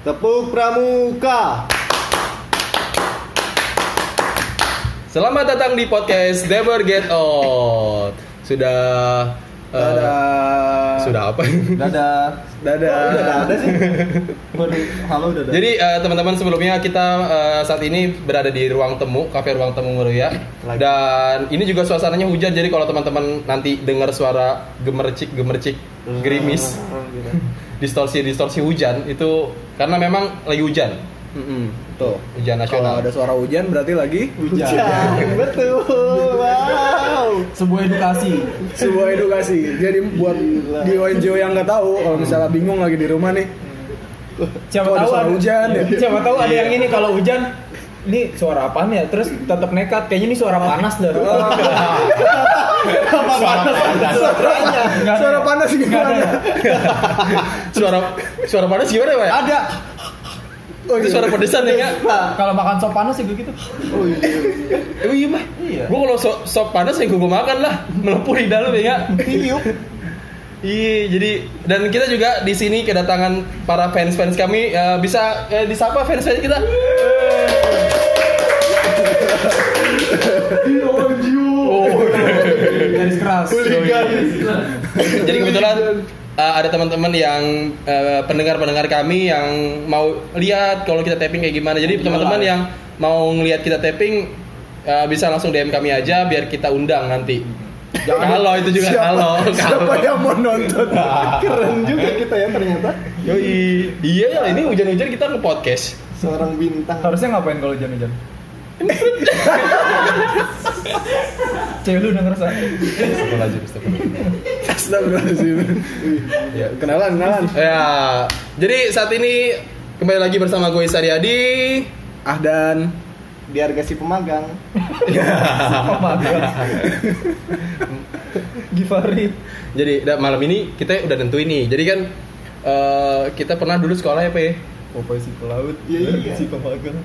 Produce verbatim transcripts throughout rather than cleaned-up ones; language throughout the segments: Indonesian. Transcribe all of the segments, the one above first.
Tepuk pramuka. Selamat datang di podcast Never Get Old. Sudah uh, Dadah. Sudah apa? Dadah. Dadah. Oh, udah ada sih. Halo dadah. Jadi uh, teman-teman, sebelumnya kita uh, saat ini berada di ruang temu, kafe ruang temu Meruya. Dan ini juga suasananya hujan. Jadi kalau teman-teman nanti dengar suara gemercik-gemercik gerimis, distorsi-distorsi hujan, itu karena memang lagi hujan. Mm-mm, tuh Hujan nasional. Kalau ada suara hujan berarti lagi hujan. hujan. Betul. Wow. Sebuah edukasi. Sebuah edukasi. Jadi buat Dio-Dio yang nggak tahu, kalau misalnya bingung lagi di rumah nih, Siapa ada tahu suara ada hujan ya. Siapa tahu ada yang ini kalau hujan, ini suara apaan ya? Terus tetap nekat, kayaknya ini suara panas dah. Suara panas. Suaranya. Suara panas gimana? Suara suara panas gimana ya, Pak? Ada. Oh, itu suara pedesan ya, Kak? Kalau makan sop panas sih begitu. Oh iya. Oh iya, Pak. Iya. Gua kalau sop, sop panas ya gua makan lah, melepuh di dalam ya. Tiup. Iya, jadi dan kita juga di sini kedatangan para fans-fans kami. Uh, bisa uh, disapa fans-fans kita. Oh, Garis keras. jadi kebetulan uh, ada teman-teman yang uh, pendengar-pendengar kami yang mau lihat kalau kita tapping kayak gimana. Jadi teman-teman yang mau ngelihat kita tapping uh, bisa langsung D M kami aja biar kita undang nanti. Kalau itu juga kalau Siapa yang mau nonton? Keren juga kita ya ternyata. Yoi. Iya ya, ini hujan-hujan kita nge-podcast. Seorang bintang. Harusnya ngapain kalau hujan-hujan? Cewek lu udah ngerasa. Astagfirullahaladzim, astagfirullahaladzim. Astagfirullahaladzim. Ya, kenalan, kenalan. Ya, jadi saat ini kembali lagi bersama gue Saryadi. Ahdan biar gak si pemagang. Apa? Givari. Jadi da- malam ini kita udah tentuin nih. Jadi kan uh, kita pernah dulu sekolah ya, Pak ya? Popeye si pelaut. Iya, iya. Si pemagang.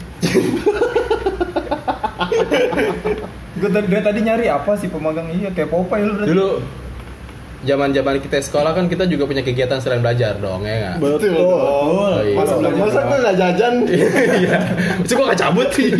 Gue tadi, gue tadi nyari apa sih pemagang, iya kayak Popeye lu berarti. Dulu zaman-zaman kita sekolah kan kita juga punya kegiatan selain belajar dong, ya nggak? Betul. Oh, iya. Masa belajar. Masa gue nggak jajan? Iya. Masa gue nggak cabut sih?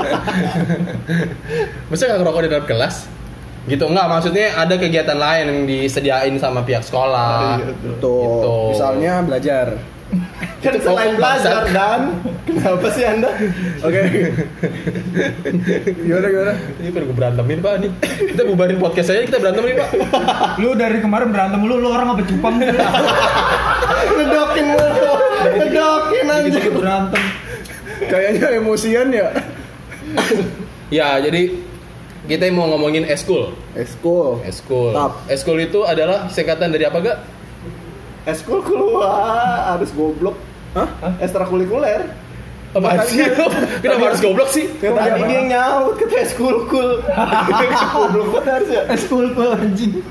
Masa nggak ngerokok di dalam kelas? Gitu enggak, maksudnya ada kegiatan lain yang disediain sama pihak sekolah. Iya, betul. Gitu. Misalnya belajar. Kan Itu selain kok belajar bangsat. dan kenapa sih Anda? Oke. Gimana gimana? Ini perlu gue berantemin, Pak nih. Kita bubarin podcast aja, kita berantem nih, Pak. Lu dari kemarin berantem lu, lu orang apa cupang? Ngedokin mulu. Ngedokin aja. Dikit-dikit berantem. Kayaknya emosian ya. Ya, jadi kita mau ngomongin eskul. Eskul. Eskul. Tap. Eskul itu adalah singkatan dari apa, Gak? Eskul keluar harus goblok. Hah? Ekstrakurikuler. Apaan sih? Kenapa harus goblok sih? Ya, tadi dia nyaut kata eskul kul. Goblok banget harus ya. Eskul kul anjing.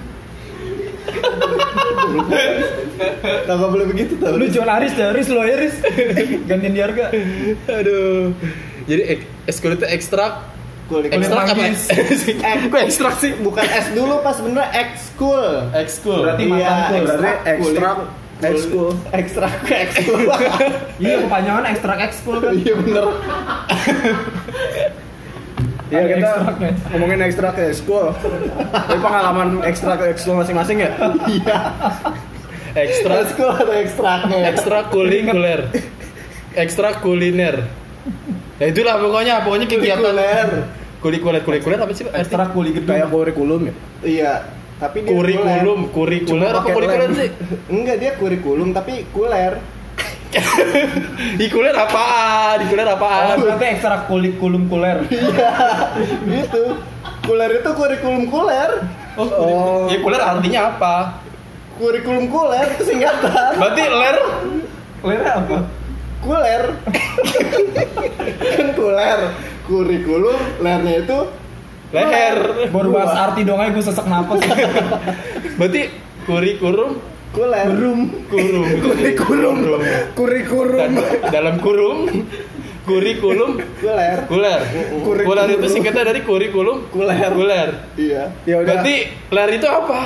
Kagak boleh begitu tuh. Lu jual Aris dah, Aris lo Aris. Gantiin di harga. Aduh. Jadi ek- eskul itu ekstrak. Kulik. Ekstrak apa? manggis. Kok ekstrak sih? Bukan S dulu pas bener ekskul. Ekskul. Berarti Iya, mantan kul. berarti ekstrak Kulik. ekskul. Ekstrak ke ekskul. Iya kepanjangan ekstrak ekskul kan. Iya bener. Iya Ada kita ekstraknya. ngomongin ekstrak ke ekskul. Tapi pengalaman ekstrak ke ekskul masing-masing ya? Iya. Ekstra Ekskul atau ekstraknya? ekstrakurikuler. Ekstrakuliner. Ya itulah pokoknya, pokoknya kegiatan Kurikuler. kurikuler kurikuler apa sih, Pak? Ekstrak kuli gedung. Kayak kurikulum ya? Iya. Tapi dia Kurikulum, kuler. kurikuler Cuma apa pakai kurikuler lem. sih? Enggak, dia kurikulum tapi kuler. Ikuler apaan? Ikuler Oh, apaan? berarti ekstrak kulik kulum kuler. Iya. Gitu. Kuler itu kurikulum kuler. Oh, oh. Ya kuler artinya apa? Kurikulum kuler itu singkatan. Berarti ler Kuler apa? Kuler. Kan kuler. Kurikulum lernya itu leher. Baru bahas arti dong aja gue sesek napas. Berarti kurikulum kuler. Berum. kurung. Kurikulum. Kurikulum. Dan dalam kurung kurikulum Kuler. kuler. Kurikulum. Kuler itu singkatan dari kurikulum Kuler. kuler. Iya. Ya udah. Berarti ler itu apa?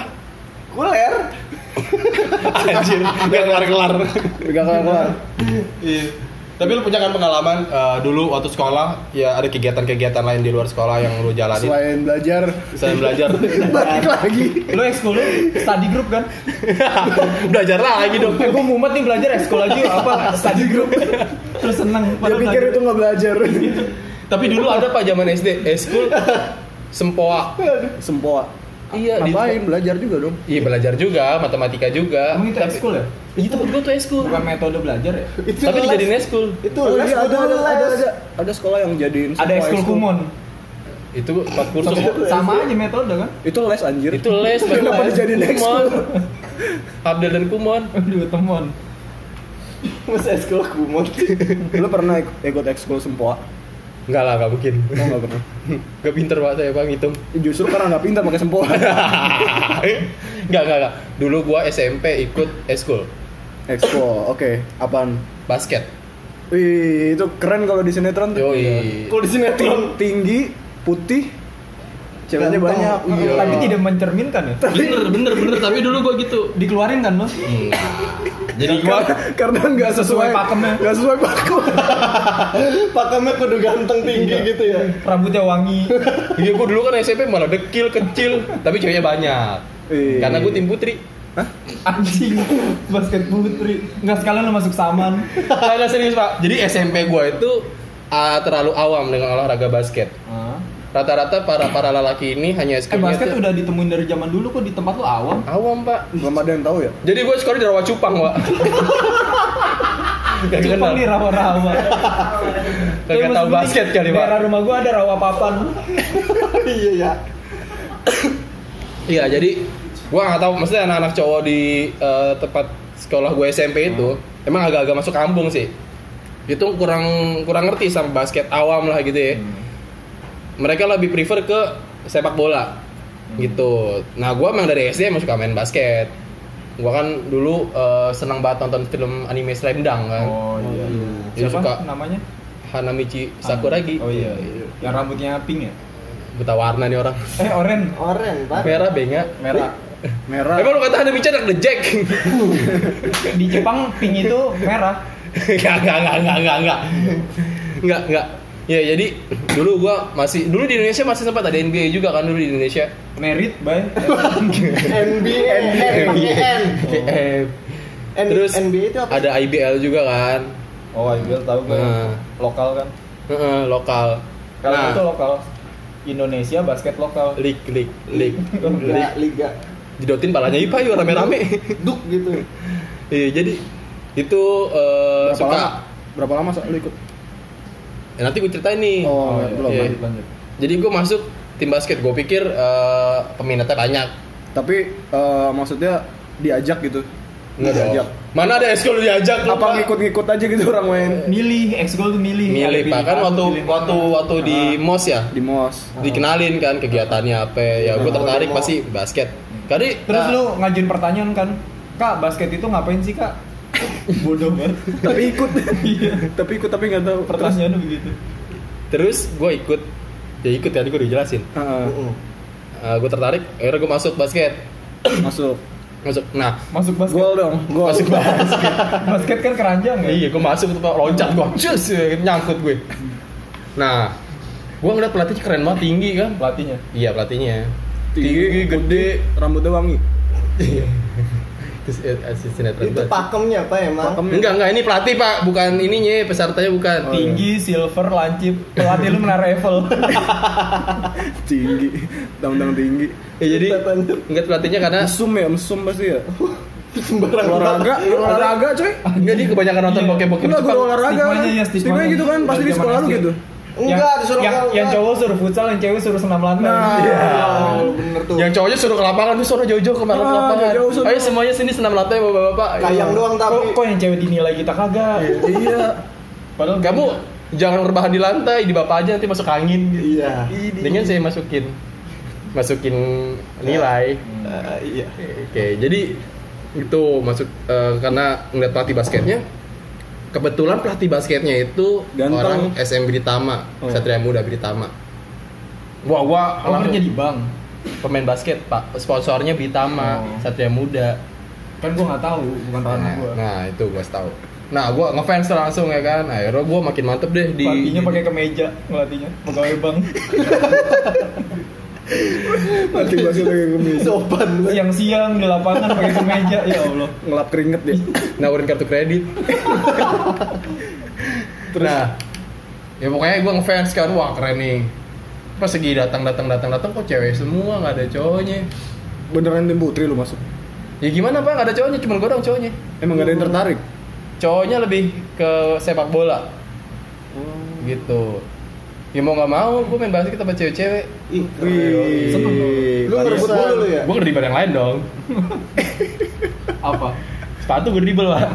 Kuler. Anjir, gak kelar-kelar. Gak kelar-kelar. Iya. Tapi lu punya kan pengalaman uh, dulu waktu sekolah ya ada kegiatan-kegiatan lain di luar sekolah yang lu jalani Selain belajar, selain belajar. balik lagi. Lu ekskul lu study group kan? Belajar lagi dong. Eh, gue mumet nih belajar ekskul lagi apa study group. Terus seneng. Dia padahal pikir belajar. itu nggak belajar. Tapi dulu ada Pak zaman S D, eskul sempoa. Sempoa. Iya, di- Ngapain? Belajar juga dong. Iya belajar juga, matematika juga. Emang itu Tapi- ekskul ya? Iya tempat gua tuh eskul. Bukan metode belajar ya? Itu Tapi les. dijadiin eskul. Itu Oh, les, iya, ada, kudu ada, les. ada, ada, ada sekolah yang jadiin Ada sempoa ekskul ekskul. kumon. Itu empat kursus. Sama, sama aja metode kan? Itu les anjir. Itu les Kenapa les. dijadiin Kumon. ekskul? Abdel dan Kumon. Aduh, temon. Mas eskul kumon. Lu pernah ik- ikut ekskul sempoa? Enggak lah, enggak mungkin. Oh, nggak pernah. Gak pinter Pak saya Pak ngitung. Justru karena nggak pintar pakai sempoa. Enggak, enggak, enggak. Dulu gua S M P ikut eskul Ekskul, oke. Apaan? basket. Wih, itu keren kalau di sinetron tuh. Yoi. Kalau di sinetron Tinggi, putih, ceweknya Ganteng. banyak. Iya. Tapi tidak mencerminkan ya? Bener, bener, bener. Tapi dulu gua gitu. Dikeluarin kan lo? Jadi gua Karena nggak sesuai Sesuai pakemnya. Nggak sesuai pakem. pakemnya kudu ganteng tinggi gitu ya. Rambutnya wangi. Iya, gua dulu kan S M P malah dekil, kecil, tapi ceweknya banyak. Iya. Karena gua tim putri. Anjing. Basket putri. Enggak sekalian lo masuk saman. Nah, nggak serius Pak. Jadi S M P gua itu uh, terlalu awam dengan olahraga basket. Ah. Rata-rata para para lelaki ini hanya Eh eskulnya basket tuh udah ditemuin dari zaman dulu kok di tempat lo awam. awam Pak. Belum ada yang tahu ya. Jadi gue sekolah di Rawa Cupang Pak. Gak kenal. Cupang di rawa-rawa. Gak tahu basket kali Pak. Daerah rumah gua ada rawa papan. Iya ya. Iya jadi gue nggak tahu. Maksudnya anak-anak cowok di eh, tempat sekolah gue S M P itu emang agak-agak masuk kampung sih. Itu kurang kurang ngerti sama basket, awam lah gitu ya. Mereka lebih prefer ke sepak bola gitu. Nah gue emang dari S D emang suka main basket. Gue kan dulu eh, senang banget nonton film anime Slam Dunk kan. Oh iya. iya. Jadi Siapa suka namanya? Hanamichi Sakuragi. Oh iya. Yang rambutnya pink ya? Buta warna nih orang. Eh oren. Oren, Pak. Merah benga. Merah. Merah. Emang lu kata Hanamichi anak The Jack? Di Jepang pink itu merah. Enggak, enggak, enggak, enggak, enggak, enggak. Enggak, enggak. Ya, jadi dulu gua masih dulu di Indonesia masih sempat ada N B A juga kan dulu di Indonesia. Merit by N B A, N pakai N. Eh, N- terus N B A itu apa? ada I B L juga kan. Oh, I B L tahu gue. Nah. Lokal kan. Heeh, lokal. Kalau Nah, itu lokal. Indonesia basket lokal. league, league, league, Liga, league. liga. Jidotin palanya Ipa yuk rame-rame. Duk gitu. Iya, jadi itu eh, Berapa suka. lama? Berapa lama so, lu ikut? Ya, nanti gue ceritain nih. Oh, iya. belum. Iya. Lanjut lanjut. Jadi gue masuk tim basket, gue pikir eh, peminatnya banyak. Tapi eh, maksudnya diajak gitu. Enggak diajak. dong. Mana ada eskul diajak lu, Apa Pak? ngikut-ngikut aja gitu orang main Milih, ekskul tuh milih. Milih Ada Pak, kan pilihan, waktu pilih waktu mana. waktu di M O S ya, di mos. dikenalin kan kegiatannya apa. Ya gue Oh, tertarik demo. pasti basket. Kali Terus nah, lu ngajuin pertanyaan kan, Kak, basket itu ngapain sih, Kak? Bodoh banget. Tapi ikut. Iya. Tapi ikut tapi nggak tahu. Pertanyaannya begitu. terus gue ikut, ya ikut tadi gue udah jelasin. Heeh. Uh, gue tertarik, akhirnya gue masuk basket, Masuk. masuk. Nah, Masuk basket. Gol dong. Gol. masuk basket. Basket kan keranjang ya? Iya, gue masuk tuh Pak, loncat gue, cus, nyangkut gue. Nah, gue ngeliat pelatihnya keren banget, tinggi kan? Pelatihnya. Iya pelatihnya, Tinggi, gede, rambutnya wangi. Terus eh, asisten sinetron Itu banget. pakemnya apa emang? Pakemnya. Enggak, enggak, ini pelatih Pak, bukan ininya, pesertanya bukan. Oh, Tinggi, silver, lancip. Pelatih lu menara Eiffel. Tinggi. Tang-tang tinggi. Ya, jadi enggak pelatihnya karena Mesum ya, mesum pasti ya. Sembarang Olahraga, olahraga coy. enggak dia kebanyakan nonton Iya. bokep-bokep Enggak, Jepang. guru olahraga. Stigmanya ya, stigmanya. Stigmanya gitu kan, pasti di Zaman sekolah lu S D. gitu. Enggak, disuruh yang, keluar. yang cowok suruh futsal, yang cewek suruh senam lantai. Nah. Iya. Oh, bener tuh. Yang cowoknya suruh ke lapangan, tuh suruh jauh-jauh ke Ah, lapangan. jauh-jauh suruh. Ayo semuanya sini senam lantai bapak-bapak. Kayang doang Kok, tapi. kok yang cewek dinilai kita kagak? Iya. Padahal Kamu jangan rebahan di lantai, di bapak aja nanti masuk angin. Iya. Dengan saya masukin masukin nilai. Eh, iya. Oke, jadi itu masuk eh, karena ngeliat pelatih basketnya. Kebetulan pelatih basketnya itu Ganteng. orang S M Britama, Oh. Satria Muda Britama. Wah, gua Oh, langsung kerja di bank. pemain basket, Pak. Sponsornya Britama, Oh. Satria Muda. Kan gua nggak tahu, bukan ranah Nah, gua. nah, itu gua tahu. Nah, gue ngefans langsung ya kan. Akhirnya gue makin mantep deh di. Pelatihnya pakai kemeja, ngelatihnya pegawai bank. Mati basket pakai kemeja. Sopan banget. Siang-siang di lapangan pakai kemeja, ya Allah. Ngelap keringet dia. Nawarin kartu kredit. Nah, ya pokoknya gue ngefans kan, wah keren nih. Pas segi datang datang datang datang kok cewek semua, nggak ada cowoknya. Beneran tim putri lu masuk? Ya gimana pak, nggak ada cowoknya, cuma gue doang cowoknya. Emang gak ada yang tertarik? Cowoknya lebih ke sepak bola. Gitu. Ya mau nggak mau, gue main basket sama cewek-cewek. Ih, Wih. Seneng dong. lu ngerebut mulu lu ya? Gue ngedribble yang lain dong. Apa? Sepatu gue dribble pak.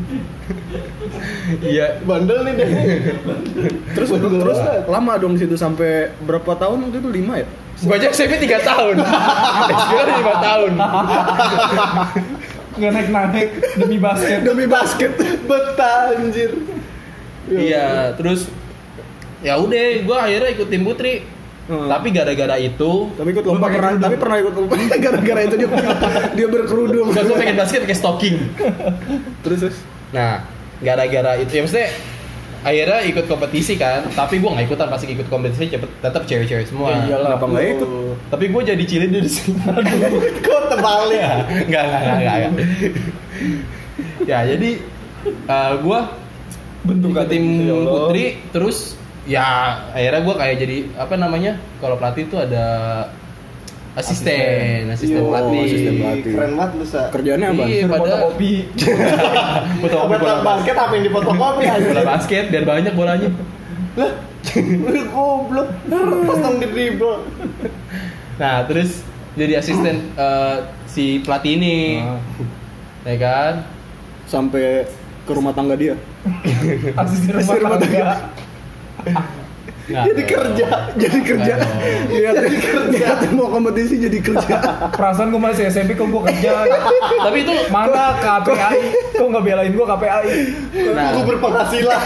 Iya. Bandel nih deh. Terus terus lama dong situ sampai berapa tahun waktu itu? lima ya? Gue aja S M P tiga tahun. S D lima tahun. Nggak naik-naik demi basket. Demi basket. Betah anjir. Iya, terus ya udah, gue akhirnya ikut tim putri. Hmm. Tapi gara-gara itu, Tapi ikut lomba pernah, tapi pernah ikut lomba. Gara-gara itu dia dia berkerudung. gue gue pengen basket pakai stocking. Terus terus. Nah, gara-gara itu ya maksudnya akhirnya ikut kompetisi kan. Tapi gue nggak ikutan, pasti ikut kompetisi cepet, tetap cewek-cewek semua. Ya iyalah. Kenapa nggak ikut? Tapi gue jadi cilin di sini. Kok terbalik? Enggak, enggak, enggak, enggak, enggak. Ya, jadi uh, gue Bentuk ikut tim ya Allah. putri, terus ya akhirnya gue kayak jadi apa namanya, kalau pelatih itu ada asisten, asisten Yo, pelatih. asisten pelatih. Keren banget lu, Sa. Kerjaannya apa? Iya, Suruh pada fotokopi. fotokopi Obat bola basket apa yang difotokopi aja? bola basket biar banyak bolanya. Lah, lu goblok. Pas dong di dribble. Nah, terus jadi asisten eh, si pelatih ini, Ah. ya kan? Sampai ke rumah tangga dia. Asisten rumah Asisten rumah tangga. Nggak Jadi dong. kerja. Jadi kerja. Nggak Lihat lihat mau kompetisi jadi kerja. Perasaan gue masih S M P kok gue kerja. Tapi itu Mana K P I? Kok nggak belain gue K P I? Nah. Gue berpenghasilan.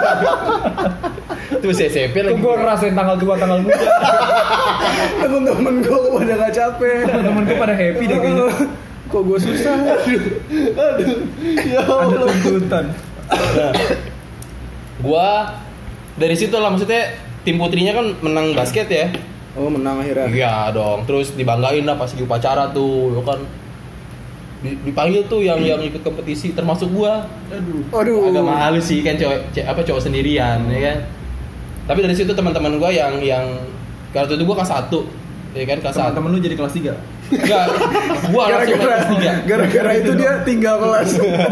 itu si S M P Kok lagi. gue ngerasain tanggal tua tanggal muda? Temen-temen gue pada gak capek. Temen gue pada happy deh kayaknya. Kok gue susah? Aduh. Ya Ada Allah. tuntutan. Nah, gua dari situ lah, maksudnya tim putrinya kan menang basket ya. Oh menang akhirnya. Iya dong, terus dibanggain lah pas di upacara tuh, ya kan. Di- Dipanggil tuh yang yang ikut kompetisi termasuk gua. Aduh. Aduh. Agak malu sih kan cowok ce- apa cowok sendirian ya kan. Tapi dari situ teman-teman gua yang yang waktu itu gua kelas satu, ya kan kelas satu. Temen-temen lu jadi kelas tiga. Enggak, gua langsung naik Gara-gara kelas tiga. gara-gara itu dia tinggal kelas.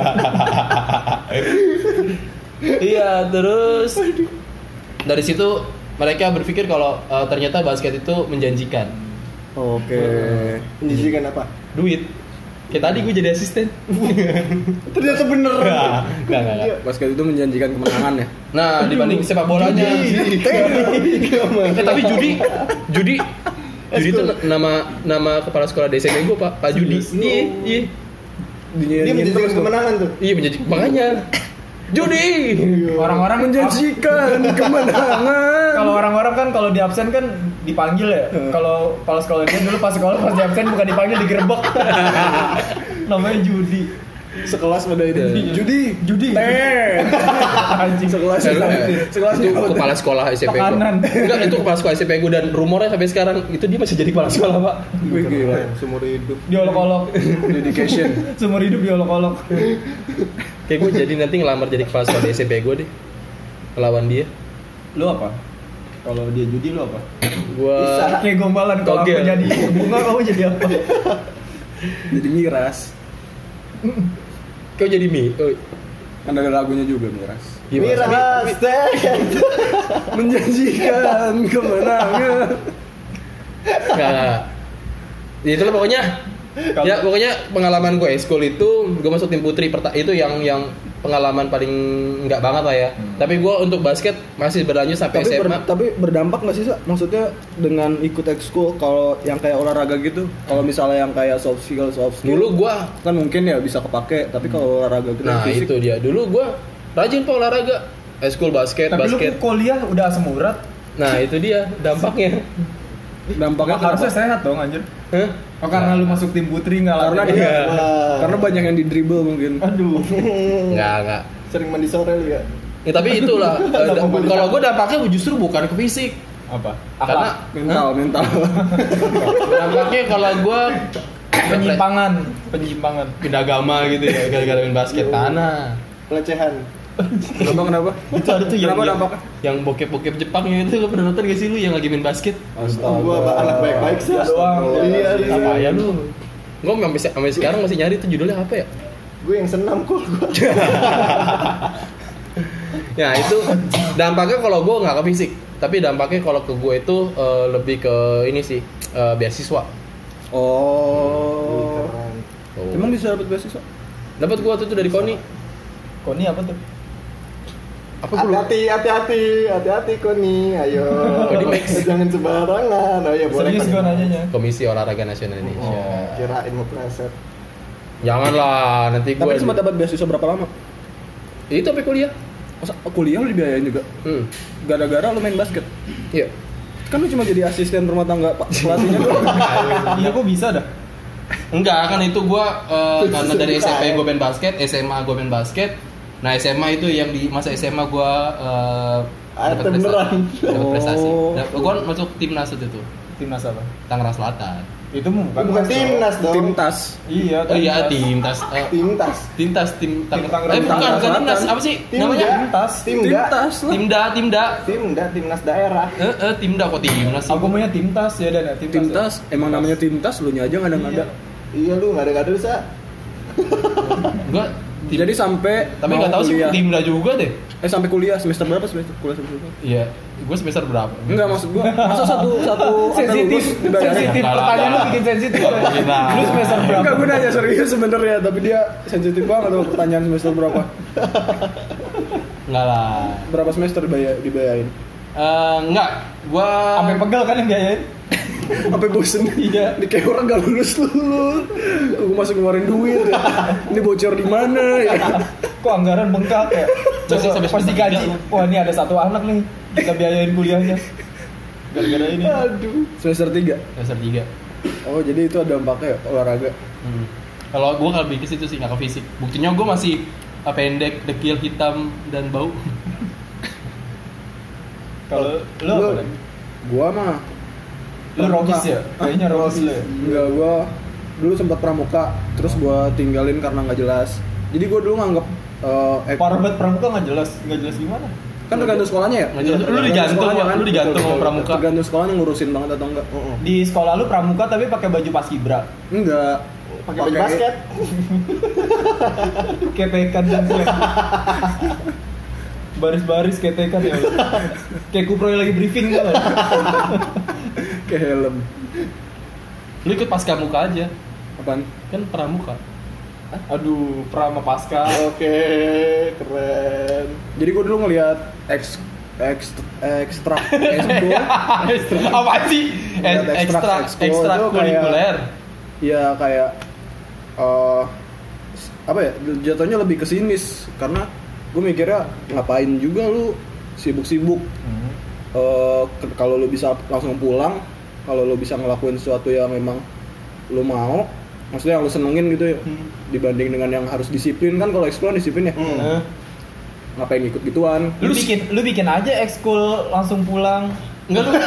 Iya, terus dari situ mereka berpikir kalau uh, ternyata basket itu menjanjikan. Oke. Menjijikan apa? Duit. Kayak tadi gue jadi asisten. Ternyata bener. Enggak, enggak, enggak. Basket itu menjanjikan kemenangan ya. Nah, dibanding sepak bolanya. Eh, tapi judi, judi, judi itu nama nama kepala sekolah D S M gue Pak Pak Judi. Iya, iya. Dia menjijikan kemenangan tuh. Iya menjanjikan. Makanya judi. Orang-orang Menjanjikan kemenangan. Kalau orang-orang kan kalau di absen kan dipanggil ya. Kalau kepala sekolah dia dulu pas sekolah pas di absen bukan dipanggil digerebek. Namanya judi. Sekelas pada ini. Judi, Judi. teh. Anjing. Sekelas. Eh, lu, eh, Sekelas itu kepala sekolah S M P gue. Tekanan. Enggak, itu kepala sekolah S M P gue dan rumornya sampai sekarang itu dia masih jadi kepala sekolah, Pak. Wih gila. Seumur hidup. Diolok-olok. Dedication. Seumur hidup diolok-olok. Kayak gue jadi nanti ngelamar jadi kepala sekolah di S M P gue deh. Lawan dia. Lu apa? Kalau dia judi lu apa? Gua Kayak gombalan kalau aku Togel. jadi bunga kamu jadi apa? Jadi miras. kau jadi mie. Oh, Kan ada lagunya juga miras. gimana? Miras teh. Menjanjikan kemenangan. Enggak, enggak. Ya itulah pokoknya. Ya pokoknya pengalaman gue school itu gue masuk tim putri perta- itu yang yang pengalaman paling enggak banget lah ya. Hmm. Tapi gue untuk basket masih berlanjut sampai Tapi, S M A. ber- tapi berdampak nggak sih Sa? Maksudnya dengan ikut ekskul kalau yang kayak olahraga gitu, kalau misalnya yang kayak soft skill soft skill, Dulu gue, kan mungkin ya bisa kepake. Tapi kalau olahraga gitu nah fisik, itu dia. Dulu gue rajin pak olahraga, school basket, Tapi lu basket. kuliah udah asam urat. Nah itu dia dampaknya. dampaknya Harusnya kenapa? sehat dong anjir. Hah? Oh karena lu masuk tim putri nggak Karena latihan. dia, Iya. karena banyak yang di dribble mungkin. Aduh. Enggak, enggak. Sering mandi sore lu ya. Ya, tapi itulah eh, da- kalau gue dampaknya justru bukan ke fisik. Apa? Karena mental mental dampaknya kalau gue Penyimpangan, penyimpangan. pindah agama gitu ya gara-gara main basket tanah. Pelecehan. kenapa kenapa Itu ada tuh yang Kenapa yang, dampaknya? yang bokep-bokep Jepang yang itu lu pernah nonton gak sih lu yang lagi main basket? Oh, gua apa, anak baik-baik sih. Dia doang. Iya, iya. Apa ya lu? Gue sampai sampai sekarang masih nyari itu judulnya apa ya? Gue yang senam kok gua. Ya itu dampaknya kalau gue nggak ke fisik, tapi dampaknya kalau ke gue itu eh, lebih ke ini sih eh, beasiswa. oh Keren. Oh. emang bisa dapat beasiswa Dapat gue waktu itu dari Koni. Koni apa tuh? Apa gue lupa? Hati-hati, hati-hati, hati-hati Koni. Ayo. Koni Max. Jangan sembarangan. Oh ya boleh. Serius Koni. gue nanyanya. Komisi Olahraga Nasional Indonesia. Oh, kirain mau pleset. Janganlah nanti gue. tapi cuma dapat beasiswa berapa lama Itu sampai kuliah. masa kuliah lu dibiayain juga Hmm. gara-gara lu main basket Iya. kan lu cuma jadi asisten rumah tangga pak pelatihnya doang Iya kok bisa dah? Enggak, kan itu gua eh, karena dari S M P gua main basket, S M A gua main basket. Nah, S M A itu yang di masa S M A gua eh, Ah, dapat beneran. prestasi. Dapat prestasi. Oh. Dap- Gua masuk timnas waktu itu, Timnas apa? Tangerang Selatan. Itu bukan, Bukan timnas dong. tim tas Iya, Oh iya, timnas. timnas. Eh, Timtas. Timtas tim Tang- Tim Tangerang Eh bukan, Selatan. bukan timnas. Apa sih Timda. namanya? Timnas. Timda. tim tas lah Timda, Timda. Timda, timnas daerah. Eh, eh, Timda kok timnas sih? Aku maunya Timtas ya dan ya Timtas. tim ya. tas emang namanya tim tas lu nya aja nggak ada nggak ada Iya lu nggak ada nggak ada sa. Enggak. Tim- jadi sampai tapi mau nggak tahu sih kuliah. Timda juga deh. eh sampai kuliah semester berapa semester kuliah semester berapa Iya, gue semester berapa? enggak maksud gua masa satu satu sampai Sensitif, lulus dibayarin? sensitif. Enggak lah, Pertanyaan lu enggak bikin sensitif. lah. Mungkin lah. Lu semester berapa? enggak gue nanya serius sebenarnya tapi dia sensitif banget sama pertanyaan semester berapa Enggak lah. berapa semester dibayar dibayarin Eh, enggak, gua Sampai pegel kan yang biayain? sampai bosen Iya. ini kayak orang gak lulus lulus gue masih ngeluarin duit ya. Ini bocor di mana ya Kok anggaran bengkak ya? Masih Coba sampai pas semester digaji. tiga. Wah, ini ada satu anak nih. Kita biayain kuliahnya. Gara-gara ini. Aduh. semester tiga semester tiga. oh jadi itu ada dampaknya ya, olahraga Hmm. Kalau gua kalau lebih ke situ sih nggak ke fisik. Buktinya gua masih eh, pendek, dekil, hitam dan bau. Kalau lu Lu- apa? Dan? gua mah Lu rogis ya? Kayaknya rogis lu ya. enggak gua dulu sempat pramuka terus gua tinggalin karena nggak jelas jadi gua dulu nganggep eh, ek- Parah banget pramuka nggak jelas, nggak jelas gimana? kan tergantung sekolahnya ya Nggak jelas. Lu Tergantung digantung, sekolahnya lu digantung sama pramuka. tergantung sekolahnya ngurusin banget atau enggak Di sekolah lu pramuka tapi pakai baju paskibra. enggak Pakai baju basket. Ketekan dan baris-baris ketekan ya. Kayak Kupro yang lagi briefing kan. ke helm Lu ikut pasca muka aja. apaan Kan pramuka. Aduh, prama pasca. Oke, keren. jadi gua dulu ngelihat eks eks ekstra ekskul Apa sih? Lihat Eh, ekstra- Ekstra ekskul ekstra itu kayak- kurikuler. ya kayak eh apa ya jatuhnya lebih ke sinis karena gue mikirnya ngapain juga lu sibuk-sibuk Hmm. Eh, ke- kalau lu bisa langsung pulang kalau lu bisa ngelakuin sesuatu yang memang lu mau maksudnya yang lu senengin gitu ya Hmm. dibanding dengan yang harus disiplin kan kalau ekskul kan disiplin ya Hmm. Eh, ngapain ikut gituan Lu bikin lu bikin aja ekskul langsung pulang. Enggak lu.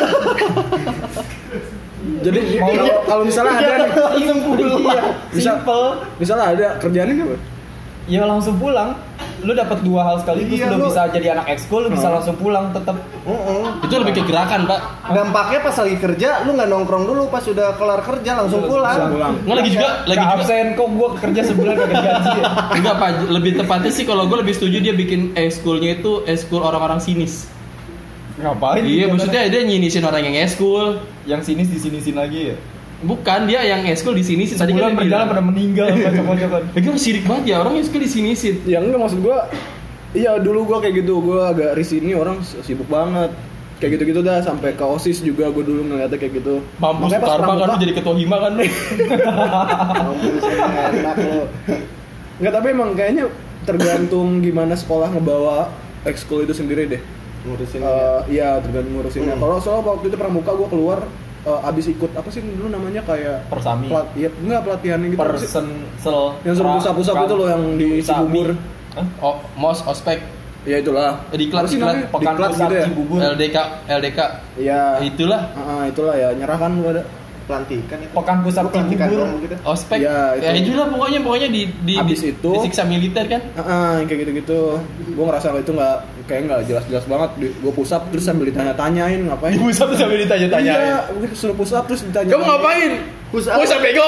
jadi Mau kalau- lu- kalau misalnya ada nih, langsung pulang. Iya, bisa- Simple. misalnya ada kerjaannya apa Ya langsung pulang. Lu dapat dua hal sekaligus, Iya, lu lu- bisa jadi anak ekskul, lu bisa Hmm. langsung pulang tetap. Heeh. Itu lebih ke gerakan, Pak. Dampaknya pas lagi kerja, lu nggak nongkrong dulu, pas sudah kelar kerja langsung Langsung pulang. pulang. Enggak lagi juga, lagi Gak juga. absen kok gua kerja sebulan kagak digaji ya. Enggak, Pak. Lebih tepatnya sih kalau gue lebih setuju dia bikin ekskulnya itu ekskul orang-orang sinis. Ngapain? Iya, dia maksudnya dia nyinisin orang yang ekskul. yang sinis disinisin lagi ya. Bukan, dia yang ekskul disinisin. Tadi Sebulan kan dia berjalan pada bilang. meninggal kocok-kocokan. Lagi orang sirik banget ya, orang ekskul disinisin. ya enggak maksud gua iya dulu gua kayak gitu gua agak risih ini orang sibuk banget kayak gitu-gitu dah sampai ke OSIS juga gua dulu ngeliatnya kayak gitu Mampus Makanya pas Karma kan pramuka- lu jadi ketua hima kan. Mampus, enak lu. Enggak, tapi emang kayaknya tergantung gimana sekolah ngebawa ekskul itu sendiri deh. Ngurusin Eh, iya, tergantung ngurusinnya. Hmm. Kalau soal waktu itu pramuka gua keluar eh, abis ikut apa sih dulu namanya kayak Persami. pelat, ya, enggak pelatihannya gitu apa sih? Person sel Yang suruh pusap-pusap itu loh yang di Sami. Cibubur. Oh, mos, ospek, Ya itulah. Eh, diklat, Apa sih diklat. namanya? Pekan Diklat Pusat gitu ya. Cibubur. L D K, L D K. Iya. Itulah. Ah, itulah ya, nyerah kan lu ada. Pelantikan itu. Pekan Pusat Pelantikan Cibubur. dong gitu. Ospek. Iya, itu. Ya itulah pokoknya pokoknya di di, Abis di itu- disiksa militer kan. Ah, yang kayak gitu-gitu. Gue ngerasa itu nggak kayak nggak jelas-jelas banget. Gue push up terus sambil ditanya-tanyain ngapain. Ibu sampai sampai ditanya-tanyain. Iya, gue suruh push up terus ditanya. Kamu ngapain? Push up. Push up bego.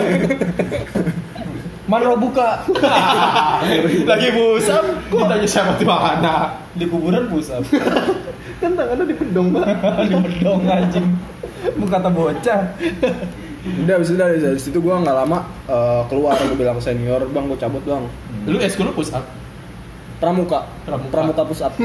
Mana buka? Lagi push up, ditanya siapa tuh anak. Di kuburan pusat. Kan tangannya di pedong banget. Di bedong anjing. Mau kata bocah. Udah abis itu dari, dari situ gue nggak lama eh, keluar, gue bilang ke senior, bang gue cabut bang. Lu eskul lu push up. Pramuka, Pramuka. pramuka push up.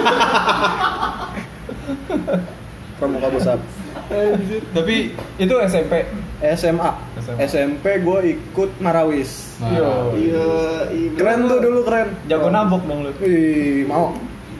Pramuka push up. Tapi Itu S M P. S M A, S M A. S M P gue ikut Marawis. Nah, Iya, iya. Keren tuh dulu keren. Jago nabok dong lu. Wih, mau.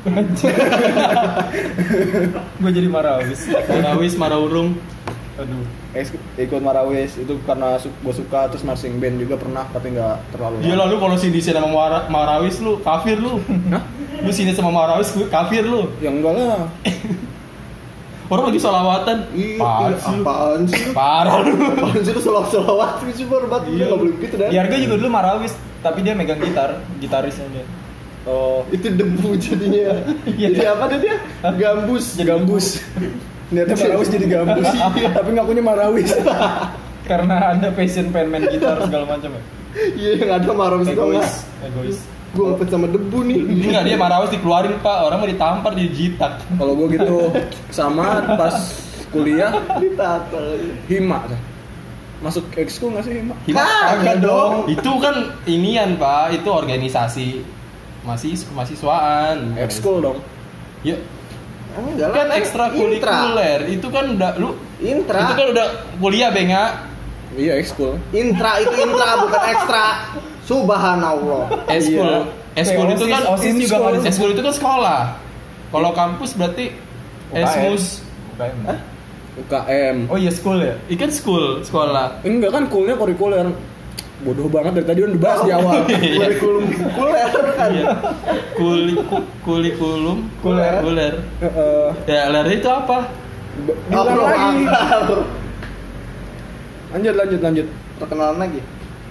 Gue jadi Marawis. Marawis, Maraurung. Aduh. Eks- ikut Marawis itu karena su- gue suka, terus marching band juga pernah tapi nggak terlalu. Dia lalu kalau sini sama Mara- Marawis lu kafir lu. Hah? Lu sini sama Marawis lu kafir lu. Ya enggak lah. Orang lagi solawatan. Iya, Apaan iya, sih lu? apaan sih lu? Parah lu. Apaan sih lu selawat-selawat sih banget. Iya, enggak boleh gitu dah. Diarga juga dulu Marawis, tapi dia megang gitar, gitarisnya dia. Oh, Itu debu jadinya. Jadi apa deh dia? Gambus. gambus. Niatnya Marawis jadi gambus, tapi ngakunya Marawis. Karena ada passion pengen main gitar segala macam ya. Iya, yang ada marah sih Egois, egois. Gue ngepet sama debu nih. Enggak, dia Marawis dikeluarin Pak, orang mau ditampar di jitak. Kalau gue gitu sama pas kuliah Ditata lagi. Hima. Masuk ekskul nggak sih Hima? Ah, enggak dong. Itu kan inian Pak, itu organisasi masih mahasiswaan. Ekskul dong. Ya, Enggak lah. kan ekstrakurikuler. Itu kan udah lu Intra. itu kan udah kuliah Benga. Iya ekskul. Intra itu intra bukan ekstra. Subhanallah. Eskul. Eskul Kayak itu OSIS, kan OSIS juga Eskul. kan eskul itu kan sekolah. Kalau kampus berarti U K M. esmus. U K M. U K M. Oh iya school ya. Ikan school, sekolah. Enggak kan kulnya kurikuler. Bodoh banget dari tadi udah dibahas di awal. Kurikulum kuler kan. Iya. Kuli ku- kurikulum Kuler. kuler. Heeh. Ya, ler itu apa? Diulang Apa lagi. akal? Lanjut lanjut lanjut. Perkenalan lagi.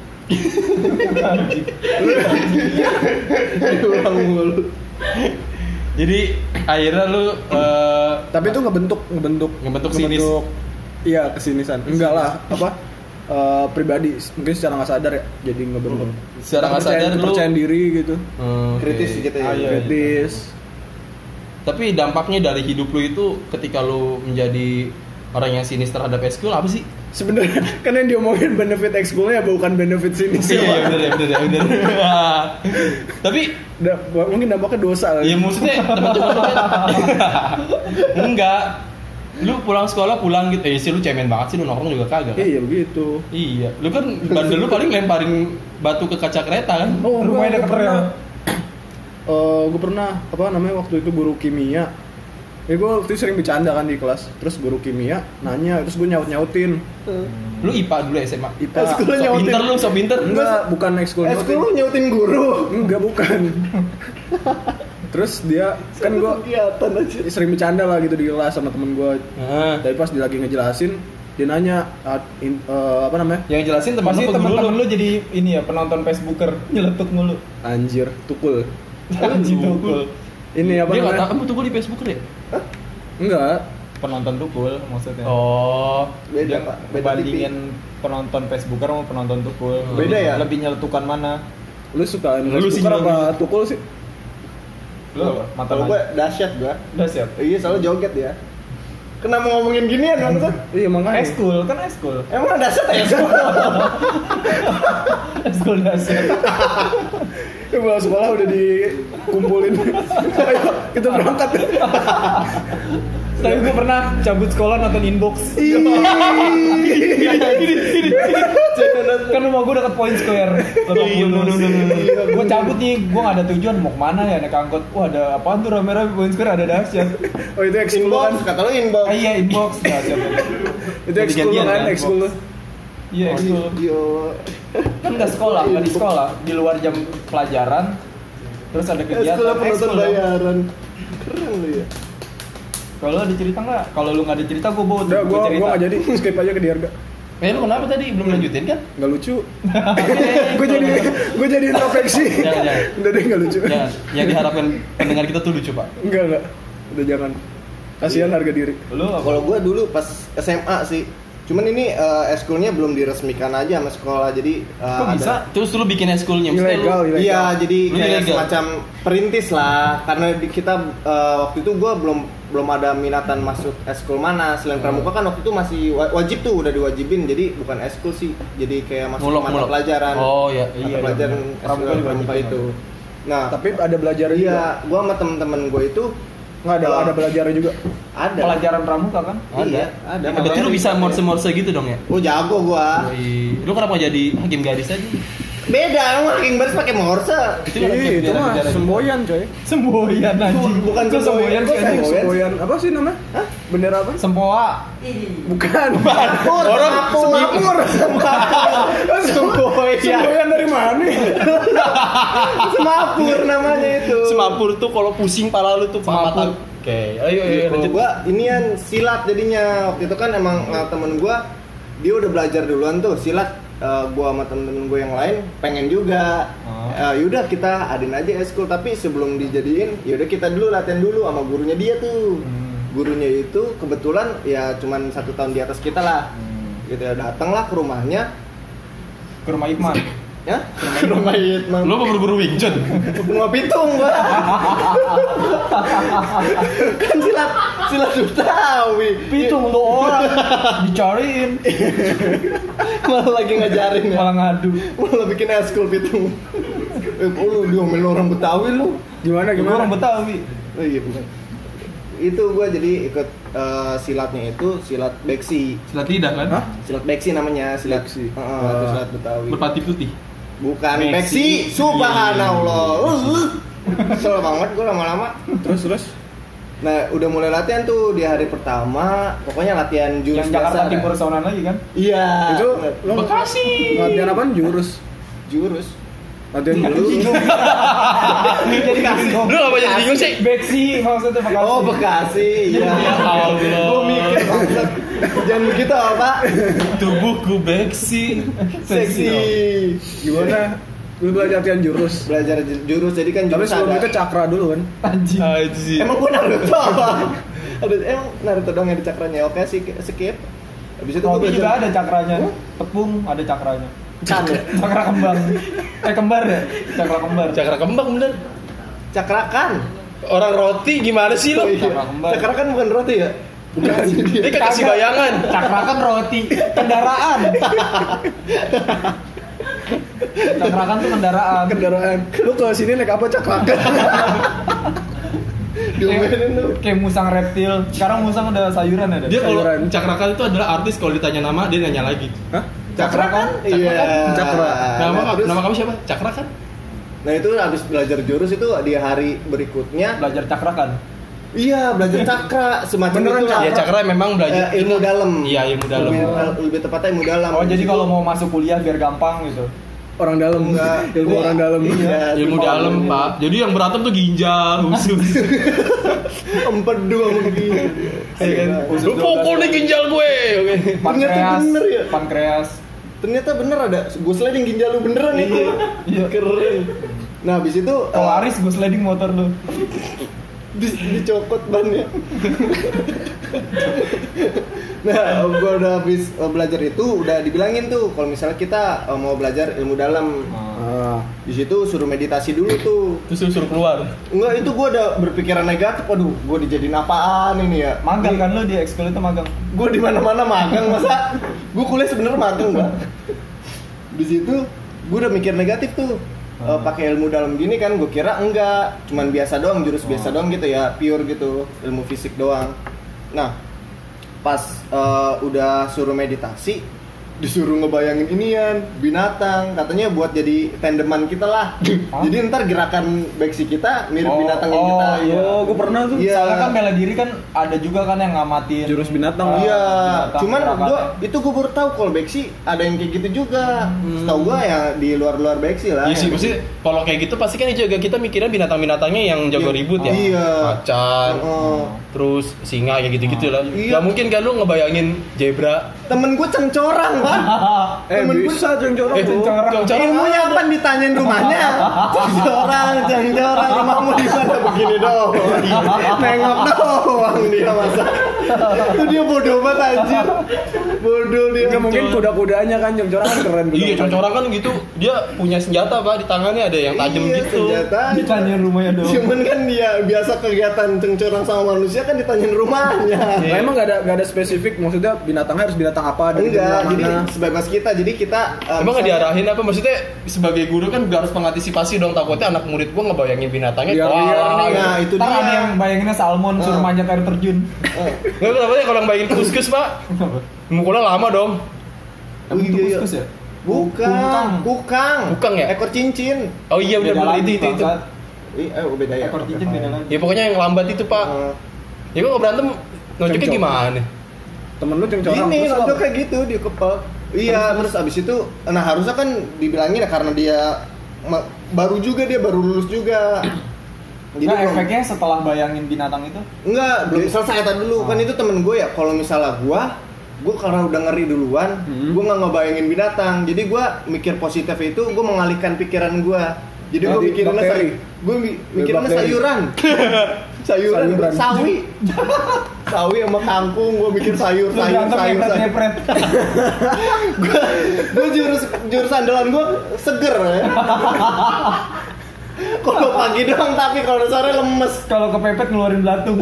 Diulang mulu. Jadi akhirnya lu eh, Tapi itu ngebentuk ngebentuk Ngebentuk sinis. Iya kesinisan. Enggak lah apa eh, pribadi mungkin secara nggak sadar ya jadi ngebentuk. Secara nggak Kepercayaan- sadar lu- kepercayaan diri gitu. hmm, oke. Kritis gitu ya. Ah, iya. Kritis. Tapi dampaknya dari hidup lu itu ketika lu menjadi orang yang sinis terhadap eskul apa sih? Sebenarnya kan yang diomongin benefit ekskulnya bukan benefit sinis. Iya, iya, bener ya, bener ya, bener. Tapi Da- mungkin dampaknya dosa ya kali. maksudnya teman-teman lu kan enggak. Lu pulang sekolah pulang gitu. Eh sih lu cemen banget sih lu nongkrong juga kagak. Kan? Iya begitu. Iya, lu kan bandel lu paling lemparin batu ke kaca kereta kan? Oh, Rumahnya gue deket pernah. rel. Eh, gue pernah apa namanya waktu itu guru kimia. Ya gue waktu itu sering bercanda kan di kelas. Terus guru kimia nanya, terus gue nyaut nyautin. Lu I P A dulu S M A. I P A. Ekskul So nyautin. pinter lu, so pinter. Enggak, bukan ekskul Ekskul lu nyautin. nyautin guru. Enggak, bukan. Terus dia kan gue Kegiatan aja. sering bercanda lah gitu di kelas sama temen gue. Nah, Tapi pas dia lagi ngejelasin, dia nanya ah, in- eh, apa namanya? yang jelasin teman Pasti lu apa guru teman-teman lu? lu jadi ini ya penonton Facebooker nyeletuk mulu. Anjir, tukul. Anjing tukul. Ini apa Dia nggak tahu namanya? kamu tuh di Facebook ya? Enggak. Penonton tukul maksudnya. Oh, Beda, Dia Pak. Beda tipis. bandingin penonton Facebooker sama penonton tukul. Beda ya? Lebih nyeletukan mana? Lu suka Lu lu sih tukar nyolong. apa tukul sih? Lu apa? Mata Kalau gue dahsyat gue. udah siap. Iya, selalu joget ya. Kenapa ngomongin ginian kan? Iya makanya. Eskul kan eskul. Emang dahsyat ya? Eskul dasar. Ya, pulang sekolah udah dikumpulin. Ayo kita berangkat. Tapi gue pernah cabut sekolah nonton inbox. Kan rumah gue deket Point Square. Gue cabut nih, gue gak ada tujuan mau kemana ya naik angkot. Wah ada apaan tuh rame-rame Point Square ada dahsyat. Oh itu ekskul Inbox, kan? kata lu inbox. Ah iya inbox dahsyat. Itu ekskul Gantian, kan? kan? Ekskul lu. Iya ekskul. Yo. Kan nggak sekolah, nggak di sekolah, di luar jam pelajaran Terus ada kegiatan Eskul penonton ekskul dong. bayaran. Keren lu ya. Kalau ada cerita nggak? Kalau lu nggak ada cerita, gue bawa Udah, gua gua cerita. gua nggak jadi, skip aja ke Diarga. Eh lu kenapa tadi belum lanjutin kan? Nggak lucu. Gue jadi gue jadi introspeksi. Jangan, jangan. Udah deh nggak lucu. Jangan. Yang diharapkan pendengar kita tuh lucu, Pak. Enggak enggak. Udah jangan. Kasihan harga diri. Lu apa? Kalau gue dulu pas S M A sih, cuman ini uh, eskulnya belum diresmikan aja sama sekolah, jadi uh, Kok bisa? Terus lu bikin eskulnya maksudnya lu- Ilegal, ilegal. Iya, jadi Lu kayak ilegal. semacam perintis lah, karena di- kita uh, waktu itu gue belum belum ada minatan masuk eskul mana. Selain pramuka kan waktu itu masih wa- wajib tuh, udah diwajibin, jadi bukan eskul sih, jadi kayak masuk Mulok, mata mulok. pelajaran. Oh, iya. Mata Iya, iya, pelajaran bener. eskul Pramuka pramuka, diwajibin. itu. Nah, Tapi ada belajar juga. iya, gue sama temen-temen gue itu Nggak ada uh, ada belajarnya juga. ada. Pelajaran pramuka kan? Iya, ada. Ya, berarti lu bisa morse-morse gitu dong ya? Oh jago gua. Wih, lu kenapa nggak jadi hakim gadis aja? Beda, emang hakim baris pakai morse. Itu kan Ih, itu biar- mah biar- semboyan coy. Semboyan anjing. Bukan Kok semboyan semboyan, sih kok anjing? semboyan? Semboyan apa sih namanya? Hah? Bendera apa? Sempoa. Bukan. Semapur, Orang semapur, semapur, semboyan, Semboyan dari mana? semapur namanya itu. Semapur tuh kalau pusing pala lu tuh Semapur. mata. Oke, ayo ayo Kalau lanjut. gua inian silat jadinya waktu itu kan emang uh, temen gua dia udah belajar duluan tuh silat. Uh, gua sama temen-temen gua yang lain pengen juga. Oh. Uh, yaudah kita adain aja eskul, tapi sebelum dijadiin yaudah kita dulu latihan dulu sama gurunya dia tuh. Hmm. Gurunya itu kebetulan ya cuman satu tahun di atas kita lah. Hmm. Gitu ya, datanglah ke rumahnya. Ke rumah Ikman. Ya, ke rumah Yitman. Lu mau berburu Wing Chun? Bunga pitung gua. Kan silat silat Betawi. Pitung untuk orang dicariin, Malah lagi ngajarin ya. malah ngadu. Malah bikin eskul pitung. Eh, kok lu diomelin orang Betawi lu? Gimana Gua gimana? orang Betawi. Oh iya bukan. Itu gua jadi ikut eh, silatnya itu silat beksi. Silat lidah kan? Hah? Silat beksi namanya, silat Beksi. Heeh, Ah. itu silat Betawi. Berpati putih. Bukan Beksi. beksi, subhanallah. Uh, Kesel banget gua lama-lama. Terus terus. Nah, udah mulai latihan tuh di hari pertama. Pokoknya latihan jurus Yang Jakarta biasa, Timur kan? Sonan lagi kan? Iya. Itu bener. lo Bekasi. latihan apaan? Jurus. Jurus. Latihan jurus. Jadi kasih Lu apa jadi bingung sih? Beksi maksudnya Bekasi. Oh, Bekasi. Iya. Ya Allah. Gua mikir bangsat. Jangan begitu, Pak. Tubuhku beksi. Seksi. Gimana? Lu belajar latihan jurus. Belajar ju- jurus jadi kan Tapi jurus sebelum ada. itu cakra dulu kan. Anjing. Aji. Emang gua Naruto apa? Ada emang Naruto doang yang ada cakranya. Oke, sih skip. Habis itu gua Roti juga belajar ada cakranya. Hah? Tepung ada cakranya. kan ya. Cakra kembang. Eh kembar ya? Cakra kembar. Cakra kembang bener. Cakrakan. Orang roti gimana sih Oh, lu? iya. Cakra kembar. Cakrakan bukan roti ya? Bukan. Ini kan kasih Kagak. bayangan. Cakra kan roti, kendaraan. Cakra kan tuh kendaraan. Kendaraan. Lu ke sini naik apa cakrakan? Diomelin lu. Kayak musang reptil. Sekarang musang udah sayuran ada. Dia kalau Sayuran. cakrakan itu adalah artis kalau ditanya nama dia nanya lagi. Hah? Cakrakan? Iya. Cakra. Nama Nah, terus- nama kamu siapa? Cakra kan? Nah itu habis belajar jurus itu di hari berikutnya. Belajar cakra kan. Iya belajar cakra semacam Beneran itu lah. Ya cakra memang belajar Eh, ilmu dalam. Iya, ilmu dalam. Lebih, lebih tepatnya ilmu dalam. Oh jadi Itu- kalau mau masuk kuliah biar gampang gitu. Orang dalam. Enggak. Ilmu orang dalam. Iya, ilmu ilmu dalam, Pak. Jadi yang berantem tuh ginjal, usus. Empedu sama begini. Ya kan? Usus Lu pukul nih ginjal gue. Oke. Pankreas. bener ya? Pankreas. Ternyata bener ada. Gue sliding ginjal lu beneran itu. Iya. Keren. Nah habis itu Kalau eh, Aris gue sliding motor lu. di, dicokot bannya. Nah, gue udah habis uh, belajar itu udah dibilangin tuh kalau misalnya kita uh, mau belajar ilmu dalam. Ah. Di situ suruh meditasi dulu tuh. Terus suruh, suruh keluar. Enggak, itu gue udah berpikiran negatif. Waduh, gue dijadiin apaan ini ya? Magang kan lu di ekskul itu magang. Gue di mana-mana magang masa? Gue kuliah sebenarnya magang gak? Di situ gue udah mikir negatif tuh. Uh, pakai ilmu dalam gini kan gue kira enggak, cuman biasa doang, jurus biasa doang gitu ya, pure gitu, ilmu fisik doang. Nah, pas uh, udah suruh meditasi, disuruh ngebayangin inian binatang, katanya buat jadi tandeman kita lah. Jadi ntar gerakan beksi kita mirip Oh, binatang yang oh, kita. iya. Oh, gue pernah tuh. Iya. Soalnya kan bela diri kan ada juga kan yang ngamatin Jurus binatang. Ah, Iya, binatang, cuman gerakannya. gua itu gua baru tahu kalau beksi ada yang kayak gitu juga. Setahu gua ya di luar-luar beksi lah. Iya sih, Yang- pasti kalau kayak gitu pasti kan juga kita mikirnya binatang-binatangnya yang jago Iya. ribut ya. Iya. Macan, Oh. terus singa kayak gitu-gitu lah. Iya. Gak mungkin kan lu ngebayangin zebra. Temen gua cengcorang, Pak. Eh Temen gua bisa cengcorang Eh, tuh. cengcorang. cengcorang ilmunya apa ditanyain rumahnya? Cengcorang, cengcorang, rumahmu di mana begini doang. Nengok doang dia masa. Itu dia bodoh banget anjir. Bodoh dia. Nggak mungkin kuda-kudanya kan cengcorang kan keren. Iya, cengcorang kan gitu. Dia punya senjata Pak di tangannya ada yang tajam Iya, gitu. senjata. Ditanyain rumahnya dong. Cuman kan dia biasa kegiatan cengcorang sama manusia kan ditanyain rumahnya. Nah, emang gak ada gak ada spesifik, maksudnya binatangnya harus binatang apa dari Enggak, mana? jadi sebebas kita. Jadi kita um, Emang nggak misalnya- diarahin apa? Maksudnya sebagai guru kan harus mengantisipasi dong, takutnya anak murid gua ngebayangin binatangnya. Liar-liar wah, nih, gitu. Nah, itu Ntar dia. ada yang bayanginnya salmon suruh Ah. manjat air terjun. Oh. Nggak apa ya kalau yang bayangin kuskus Pak, mukulnya lama dong. Emang itu iya, iya. kuskus ya? Bukan, Kukang. kukang. Kukang ya? Ekor cincin. Oh iya Beda benar-benar lagi, itu itu itu. bangsat. Ih, eh beda ya. Ekor cincin beda lagi. Ya pokoknya yang lambat itu Pak. Eh, Ya gua nggak berantem, nunjuknya Cengcok. gimana? Temen lu cengcorang. Ini terus nonton apa? kayak gitu di kepel. Iya, terus abis itu, nah harusnya kan dibilangin ya karena dia ma- baru juga dia baru lulus juga. Nah, belum- efeknya setelah bayangin binatang itu enggak belum selesai tadi dulu kan itu temen gue ya kalau misalnya gue gue karena udah ngeri duluan Hmm. gue nggak ngebayangin binatang jadi gue mikir positif itu gue mengalihkan pikiran gue jadi gue Jadi mikirinnya bakteri. say- gue mi- mikirinnya bakteri. sayuran sayuran Sayuran. sawi sawi sama kangkung gue mikir sayur lu sayur berantem sayur sayur ngepret-ngepret. gue gue jurus jurus andalan gue seger ya kalau pagi doang tapi kalau sore lemes. Kalau kepepet ngeluarin belatung.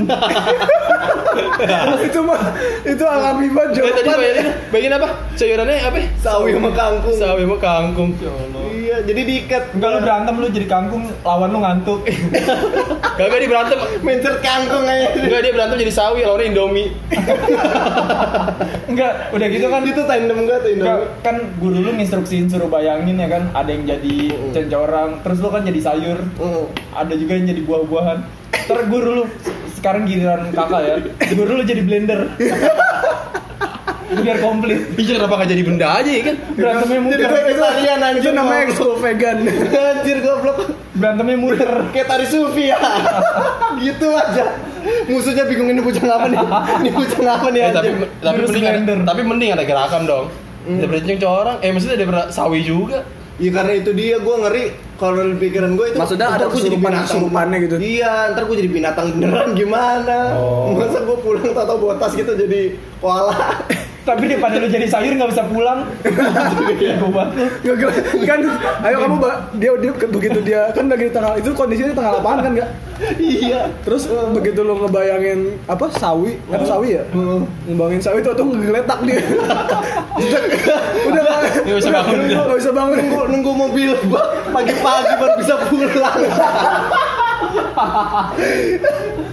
itu mah itu alami banget Eh, tadi jawaban. bayangin, bayangin apa? Sayurannya apa? Sawi sama kangkung. Sawi sama kangkung. Iya, jadi diikat. Enggak lu berantem lu jadi kangkung, lawan lu ngantuk. Gak dia berantem. Mencet kangkung aja. Enggak dia berantem jadi sawi, lawannya Indomie. Enggak, udah gitu kan Itu tandem gua tuh Enggak, Indomie. kan guru lu instruksiin suruh bayangin ya kan, ada yang jadi cengcorang, terus lu kan jadi sayur, Mm. ada juga yang jadi buah-buahan. Ntar guru lu sekarang giliran kakak ya, guru lu jadi blender. Biar komplit. Iya kenapa gak jadi benda aja ya kan? Berantemnya Jadi muter. vegetarian anjir. Itu namanya ekskul vegan. Anjir goblok. Berantemnya muter. Kayak tari sufi ya. Gitu aja. Musuhnya bingung ini bocah apa nih? Ini bocah apa nih Eh, tapi anjir? tapi Jurus mending ada, blender. tapi mending ada gerakan dong. Hmm. Daripada cengcorang, eh maksudnya daripada sawi juga. Iya karena itu dia gue ngeri kalau di pikiran gue itu Maksudnya ada ntar gua jadi kesurupan- binatang. kesurupannya gitu? Iya ntar gue jadi binatang beneran gimana Oh. masa gue pulang tau botas gitu jadi koala. Tapi daripada lu jadi sayur nggak bisa pulang. Gue banget lu. Nggak, nggak, kan ayo kamu ba- dia dia begitu dia kan lagi di tengah itu kondisinya di tengah lapangan kan nggak Iya terus begitu lo ngebayangin apa sawi apa sawi ya Hmm. ngebayangin sawi itu tuh ngegeletak dia udah udah Nggak bisa bangun dia. nggak bisa bangun nunggu nunggu mobil gua pagi-pagi baru bisa pulang.